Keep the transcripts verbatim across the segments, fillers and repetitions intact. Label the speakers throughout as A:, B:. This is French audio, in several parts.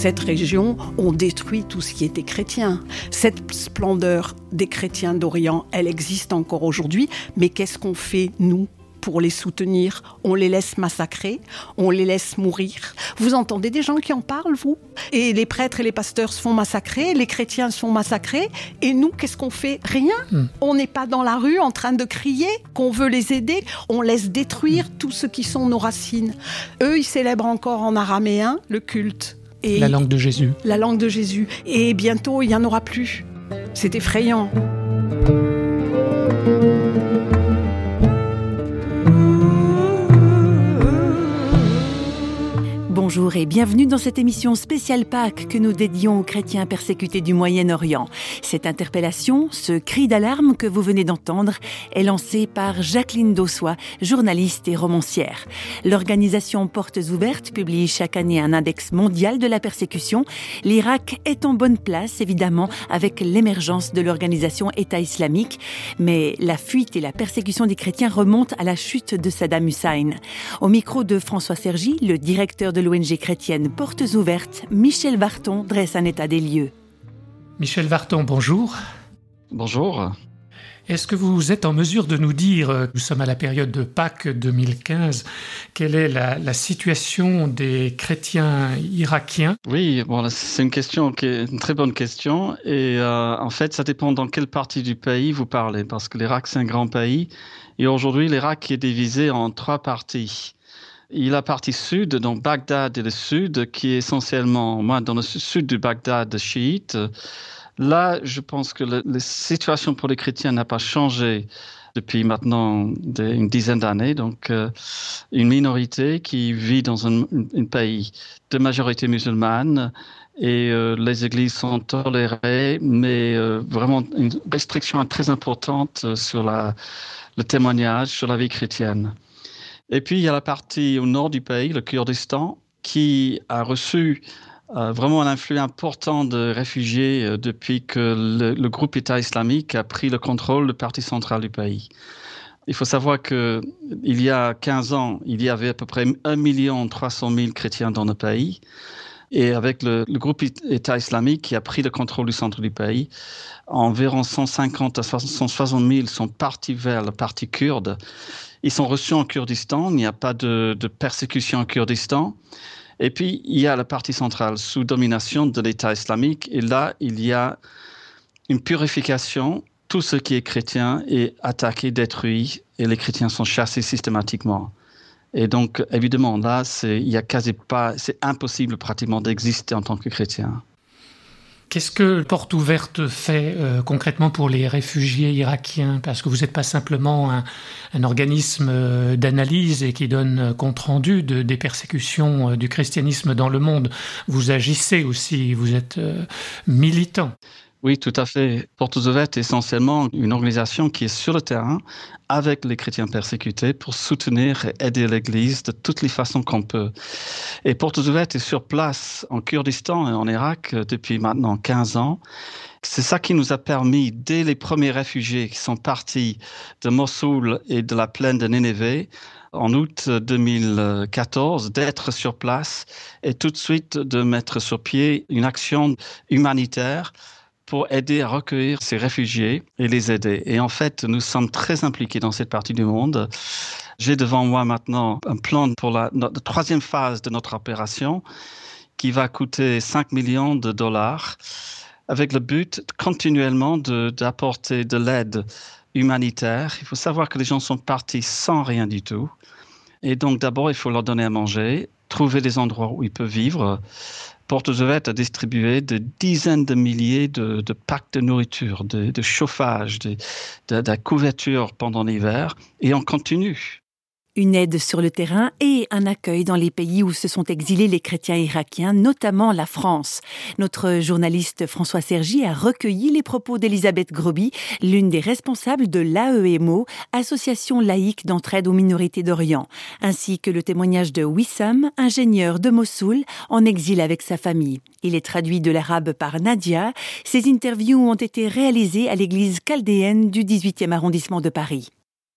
A: cette région, on détruit tout ce qui était chrétien. Cette splendeur des chrétiens d'Orient, elle existe encore aujourd'hui, mais qu'est-ce qu'on fait, nous ? Pour les soutenir, on les laisse massacrer, on les laisse mourir. Vous entendez des gens qui en parlent, vous ? Et les prêtres et les pasteurs se font massacrer, les chrétiens se font massacrer, et nous, qu'est-ce qu'on fait ? Rien. Mm. On n'est pas dans la rue en train de crier qu'on veut les aider, on laisse détruire mm. tout ce qui sont nos racines. Eux, ils célèbrent encore en araméen le culte.
B: Et la langue de Jésus.
A: La langue de Jésus. Et bientôt, il n'y en aura plus. C'est effrayant.
C: Bonjour et bienvenue dans cette émission spéciale Pâques que nous dédions aux chrétiens persécutés du Moyen-Orient. Cette interpellation, ce cri d'alarme que vous venez d'entendre, est lancé par Jacqueline Dossois, journaliste et romancière. L'organisation Portes Ouvertes publie chaque année un index mondial de la persécution. L'Irak est en bonne place, évidemment, avec l'émergence de l'organisation État islamique. Mais la fuite et la persécution des chrétiens remontent à la chute de Saddam Hussein. Au micro de François Sergi, le directeur de l'O N G chrétienne Portes Ouvertes, Michel Varton dresse un état des lieux.
B: Michel Varton, bonjour.
D: Bonjour.
B: Est-ce que vous êtes en mesure de nous dire, nous sommes à la période de Pâques deux mille quinze, quelle est la, la situation des chrétiens irakiens ?
D: Oui, bon, c'est une question qui est une très bonne question. Et euh, en fait, ça dépend dans quelle partie du pays vous parlez, parce que l'Irak, c'est un grand pays. Et aujourd'hui, l'Irak est divisé en trois parties. Il y a la partie sud, donc Bagdad et le sud, qui est essentiellement, moi, dans le sud du Bagdad, chiite. Là, je pense que le, la situation pour les chrétiens n'a pas changé depuis maintenant des, une dizaine d'années. Donc, euh, une minorité qui vit dans un, un pays de majorité musulmane et euh, les églises sont tolérées, mais euh, vraiment une restriction très importante sur la, le témoignage, sur la vie chrétienne. Et puis, il y a la partie au nord du pays, le Kurdistan, qui a reçu euh, vraiment un influx important de réfugiés euh, depuis que le, le groupe État islamique a pris le contrôle de la partie centrale du pays. Il faut savoir qu'il y a quinze ans, il y avait à peu près un million trois cent mille chrétiens dans le pays. Et avec le, le groupe État islamique qui a pris le contrôle du centre du pays, environ cent cinquante à cent soixante mille sont partis vers la partie kurde. Ils sont reçus en Kurdistan, il n'y a pas de, de persécution en Kurdistan. Et puis, il y a la partie centrale sous domination de l'État islamique. Et là, il y a une purification. Tout ce qui est chrétien est attaqué, détruit, et les chrétiens sont chassés systématiquement. Et donc, évidemment, là, c'est, il y a quasi pas, c'est impossible pratiquement d'exister en tant que chrétien.
B: Qu'est-ce que Portes Ouvertes fait euh, concrètement pour les réfugiés irakiens ? Parce que vous n'êtes pas simplement un, un organisme euh, d'analyse et qui donne compte-rendu de, des persécutions euh, du christianisme dans le monde. Vous agissez aussi, vous êtes euh, militant.
D: Oui, tout à fait. Portes Ouvertes est essentiellement une organisation qui est sur le terrain avec les chrétiens persécutés pour soutenir et aider l'Église de toutes les façons qu'on peut. Et Portes Ouvertes est sur place en Kurdistan et en Irak depuis maintenant quinze ans. C'est ça qui nous a permis, dès les premiers réfugiés qui sont partis de Mossoul et de la plaine de Nénévé, en août deux mille quatorze, d'être sur place et tout de suite de mettre sur pied une action humanitaire pour aider à recueillir ces réfugiés et les aider. Et en fait, nous sommes très impliqués dans cette partie du monde. J'ai devant moi maintenant un plan pour la, la troisième phase de notre opération qui va coûter cinq millions de dollars avec le but continuellement de, d'apporter de l'aide humanitaire. Il faut savoir que les gens sont partis sans rien du tout. Et donc d'abord, il faut leur donner à manger, trouver des endroits où ils peuvent vivre. Portes Ouvertes a distribué des dizaines de milliers de, de packs de nourriture, de, de chauffage, de, de, de couverture pendant l'hiver, et on continue.
C: Une aide sur le terrain et un accueil dans les pays où se sont exilés les chrétiens irakiens, notamment la France. Notre journaliste François Sergi a recueilli les propos d'Elisabeth Groby, l'une des responsables de l'A E M O, association laïque d'entraide aux minorités d'Orient, ainsi que le témoignage de Wissam, ingénieur de Mossoul, en exil avec sa famille. Il est traduit de l'arabe par Nadia. Ces interviews ont été réalisées à l'église chaldéenne du dix-huitième arrondissement de Paris.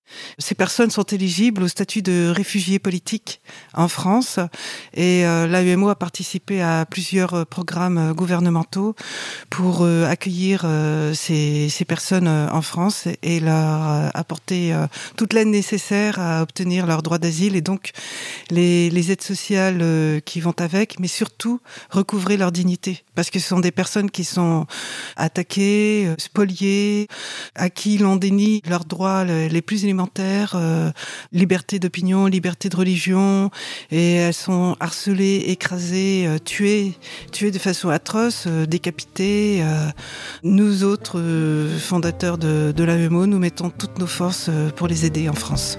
E: Ces personnes sont éligibles au statut de réfugiés politiques en France et euh, l'A E M O a participé à plusieurs programmes gouvernementaux pour euh, accueillir euh, ces, ces personnes en France et leur euh, apporter euh, toute l'aide nécessaire à obtenir leur droit d'asile et donc les, les aides sociales euh, qui vont avec, mais surtout recouvrer leur dignité parce que ce sont des personnes qui sont attaquées, euh, spoliées, à qui l'on dénie leurs droits les plus élémentaires, euh, liberté d'opinion, liberté de religion, et elles sont harcelées, écrasées, euh, tuées, tuées de façon atroce, euh, décapitées. Euh. Nous autres euh, fondateurs de, de l'A E M O, nous mettons toutes nos forces euh, pour les aider en France.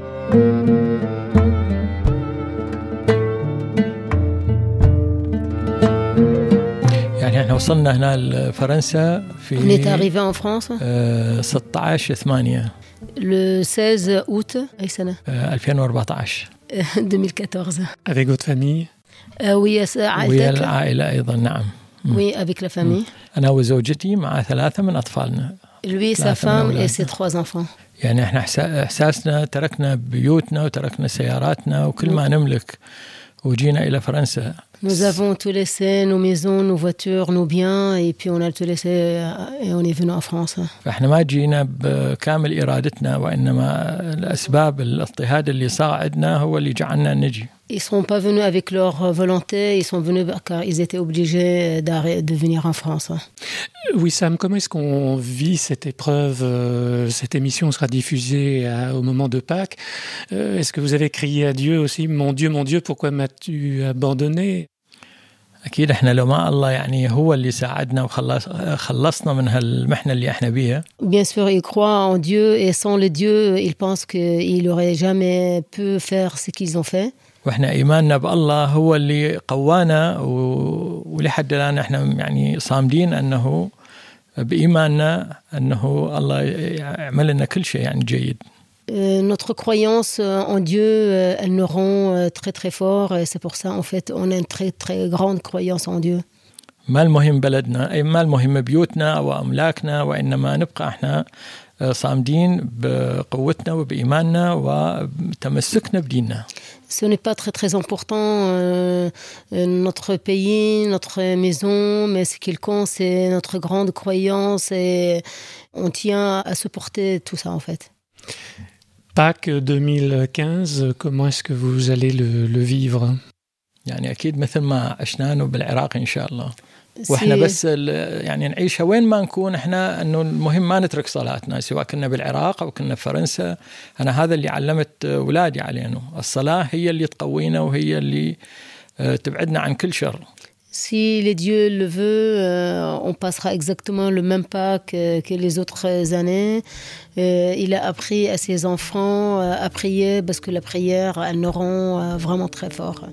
F: On est arrivé en France le seize août deux mille quatorze.
B: Avec votre famille?
F: euh, Oui, oui, avec la famille. Lui, sa femme et ses trois enfants.
G: يعني احنا احساسنا تركنا بيوتنا وتركنا سياراتنا وكل ما نملك وجينا الى فرنسا.
F: Nous avons tout laissé, nos maisons, nos voitures, nos biens, et puis on a tout laissé et on est venu en France.
G: فاحنا ما جينا بكامل ارادتنا وانما الاسباب الاضطهاد اللي صاعدنا هو اللي جعلنا نجي.
F: Ils ne sont pas venus avec leur volonté, ils sont venus car ils étaient obligés de venir en France.
B: Oui, Sam, comment est-ce qu'on vit cette épreuve? Cette émission sera diffusée à, au moment de Pâques. Est-ce que vous avez crié à Dieu aussi, mon Dieu, mon Dieu, pourquoi m'as-tu abandonné?
G: أكيد إحنا لو ما الله يعني هو اللي ساعدنا وخلص خلصنا من هالمحنة اللي إحنا بيها.
F: Bien sûr, ils croient en Dieu et sans le Dieu, ils pensent qu'ils n'auraient jamais pu faire ce qu'ils ont fait.
G: واحنا ايماننا بالله هو اللي قوانا ولحد الان احنا يعني صامدين انه بايماننا انه الله يعمل لنا كل شيء يعني جيد.
F: Notre croyance en Dieu, elle nous rend très très fort et c'est pour ça en fait on a une très très grande croyance en Dieu.
G: ما المهم بلدنا اي ما المهم بيوتنا او املاكنا وانما نبقى احنا صامدين بقوتنا وبإيماننا وتمسكنا بديننا.
F: Ce n'est pas très très important euh, notre pays, notre maison, mais ce qui compte c'est notre grande croyance et on tient à supporter tout ça en fait.
B: Pâques deux mille quinze, comment est-ce que vous allez le, le vivre?
G: يعني أكيد مثل ما عشناه بالعراق إن شاء الله. واحنا بس يعني نعيشها وين ما نكون احنا انه المهم ما نترك صلاتنا سواء كنا بالعراق او كنا في فرنسا. انا هذا اللي علمت اولادي علينا، الصلاه هي اللي تقوينا وهي اللي تبعدنا عن كل شر.
F: Si les dieux le veut, euh, on passera exactement le même Pâques que, que les autres années. Euh, il a appris à ses enfants à prier parce que la prière, elle nous rend vraiment très fort.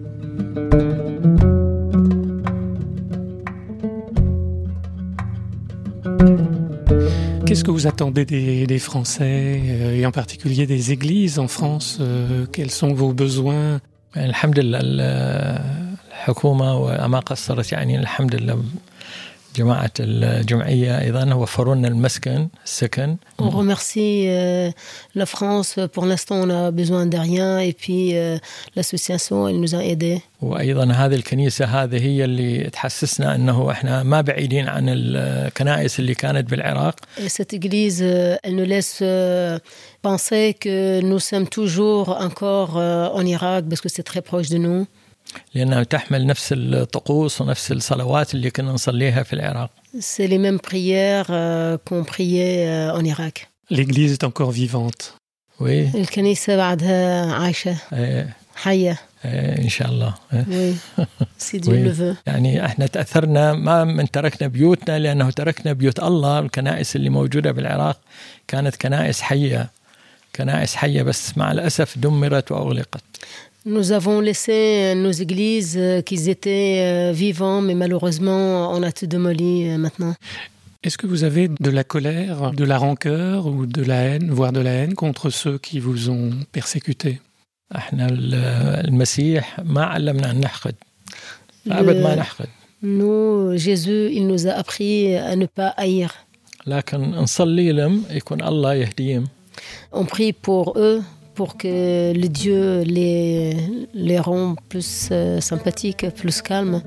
B: Qu'est-ce que vous attendez des, des Français euh, et en particulier des églises en France? euh, Quels sont vos besoins?
G: الحمد لله الحكومة وما قصرت يعني الحمد لله جماعة الجمعية أيضا وفروا لنا المسكن السكن.
F: On remercie euh, la France. Pour l'instant, on a besoin de rien et puis euh, l'association, elle nous a aidés.
G: وأيضا هذه الكنيسة هذه هي اللي تحسسنا أنه إحنا ما بعيدين عن الكنائس اللي كانت بالعراق.
F: Et cette église, elle nous laisse euh, penser que nous sommes toujours encore euh, en Irak parce que c'est très proche de nous.
G: لأنها تحمل نفس الطقوس ونفس الصلوات اللي كنا نصليها في العراق.
F: C'est les mêmes prières euh, qu'on priait euh, en Irak.
B: L'église est encore vivante.
G: Oui.
F: الكنيسة بعدها عايشة.
G: إيه.
F: حية.
G: إيه إن شاء الله.
F: Oui. Si Dieu le veut.
G: يعني إحنا تأثرنا ما من تركنا بيوتنا لأنه تركنا بيوت الله. الكنائس اللي موجودة بالعراق كانت كنائس حية. كنائس حية بس مع الأسف دمرت وأغلقت.
F: Nous avons laissé nos églises qui étaient vivants, mais malheureusement, on a tout démoli maintenant.
B: Est-ce que vous avez de la colère, de la rancœur ou de la haine, voire de la haine contre ceux qui vous ont persécuté?
G: احنا المسيح ما علمنا أن نحقد. أبد ما نحقد.
F: Nous, Jésus, il nous a appris à ne pas haïr.
G: لكن نصلي لهم يكون الله يهديهم.
F: On prie pour eux, pour que le Dieu les, les rende plus euh, sympathiques, plus calmes.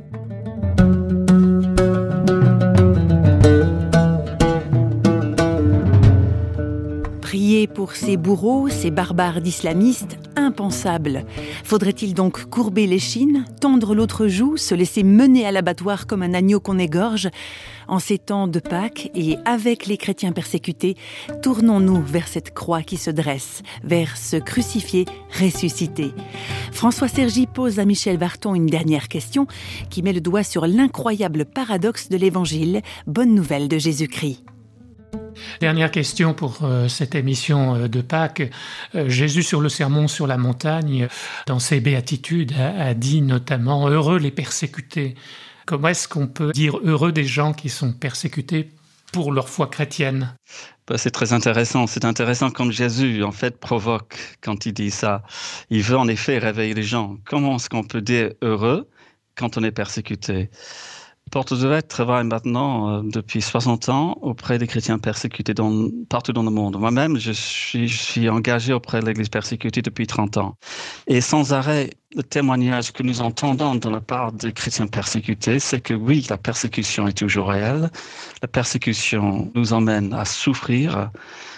C: Prier pour ces bourreaux, ces barbares d'islamistes, impensable. Faudrait-il donc courber l'échine, tendre l'autre joue, se laisser mener à l'abattoir comme un agneau qu'on égorge ? En ces temps de Pâques et avec les chrétiens persécutés, tournons-nous vers cette croix qui se dresse, vers ce crucifié ressuscité. François Sergi pose à Michel Varton une dernière question qui met le doigt sur l'incroyable paradoxe de l'Évangile. Bonne nouvelle de Jésus-Christ.
B: Dernière question pour euh, cette émission euh, de Pâques. Euh, Jésus sur le sermon sur la montagne, dans ses béatitudes, a, a dit notamment « Heureux les persécutés ». Comment est-ce qu'on peut dire heureux des gens qui sont persécutés pour leur foi chrétienne ?
D: Ben, c'est très intéressant. C'est intéressant comme Jésus, en fait, provoque quand il dit ça. Il veut en effet réveiller les gens. Comment est-ce qu'on peut dire heureux quand on est persécuté ? Portes Ouvertes travaille maintenant euh, depuis soixante ans auprès des chrétiens persécutés dans, partout dans le monde. Moi-même, je suis, je suis engagé auprès de l'Église persécutée depuis trente ans. Et sans arrêt, le témoignage que nous entendons de la part des chrétiens persécutés, c'est que oui, la persécution est toujours réelle. La persécution nous emmène à souffrir.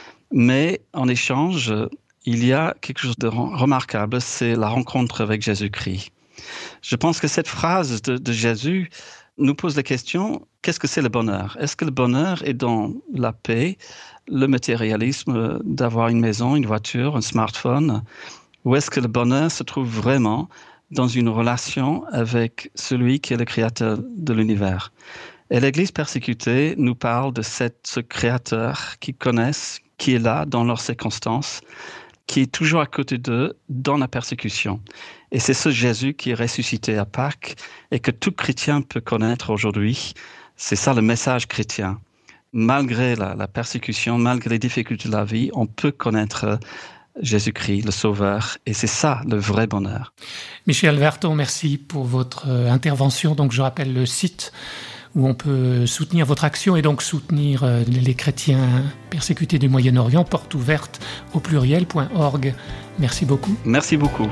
D: Mais en échange, il y a quelque chose de remarquable, c'est la rencontre avec Jésus-Christ. Je pense que cette phrase de, de Jésus nous pose la question, qu'est-ce que c'est le bonheur ? Est-ce que le bonheur est dans la paix, le matérialisme d'avoir une maison, une voiture, un smartphone ? Ou est-ce que le bonheur se trouve vraiment dans une relation avec celui qui est le créateur de l'univers ? Et l'Église persécutée nous parle de cette, ce créateur qu'ils connaissent, qui est là dans leurs circonstances, qui est toujours à côté d'eux dans la persécution. Et c'est ce Jésus qui est ressuscité à Pâques et que tout chrétien peut connaître aujourd'hui. C'est ça le message chrétien. Malgré la, la persécution, malgré les difficultés de la vie, on peut connaître Jésus-Christ, le Sauveur. Et c'est ça le vrai bonheur.
B: Michel Varton, merci pour votre intervention. Donc je rappelle le site où on peut soutenir votre action et donc soutenir les chrétiens persécutés du Moyen-Orient, porte ouverte au pluriel point org. Merci beaucoup.
D: Merci beaucoup.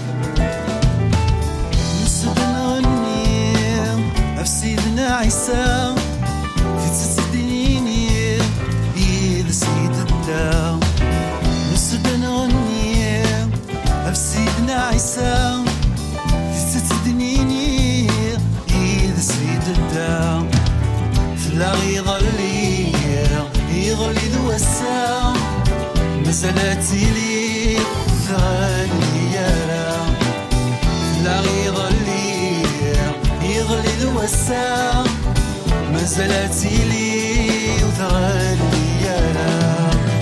H: لا يغلي يغلي ذو الساعة مسألتي لي ثاني يرى لا يغلي يغلي ذو الساعة مسألتي لي ثاني يرى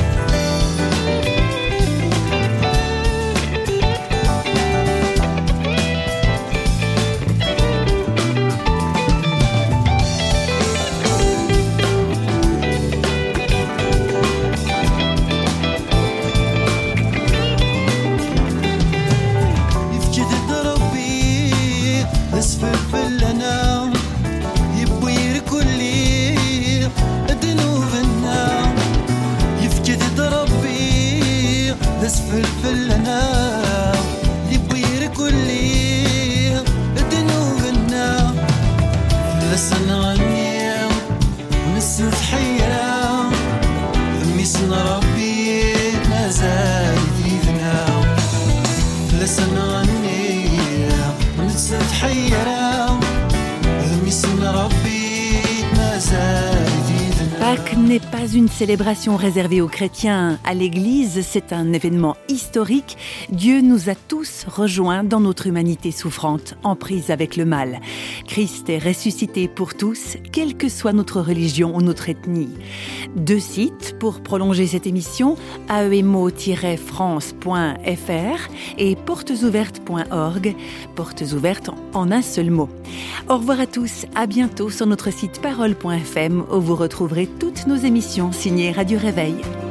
H: فلفل انا يبير كلي ذنوبنا لسنا غني ونسف حيرة ذمي سن ربي ما زال فينا لسنا غني ونسف حيرة ذمي سن ربي ما زال.
C: Pâques n'est pas une célébration réservée aux chrétiens, à l'Église, c'est un événement historique. Dieu nous a tous rejoints dans notre humanité souffrante, en prise avec le mal. Christ est ressuscité pour tous, quelle que soit notre religion ou notre ethnie. Deux sites pour prolonger cette émission, a e m o tiret france point f r et portes ouvertes point org, portes ouvertes en un seul mot. Au revoir à tous, à bientôt sur notre site parole point f m où vous retrouverez toutes nos émissions signées Radio Réveil.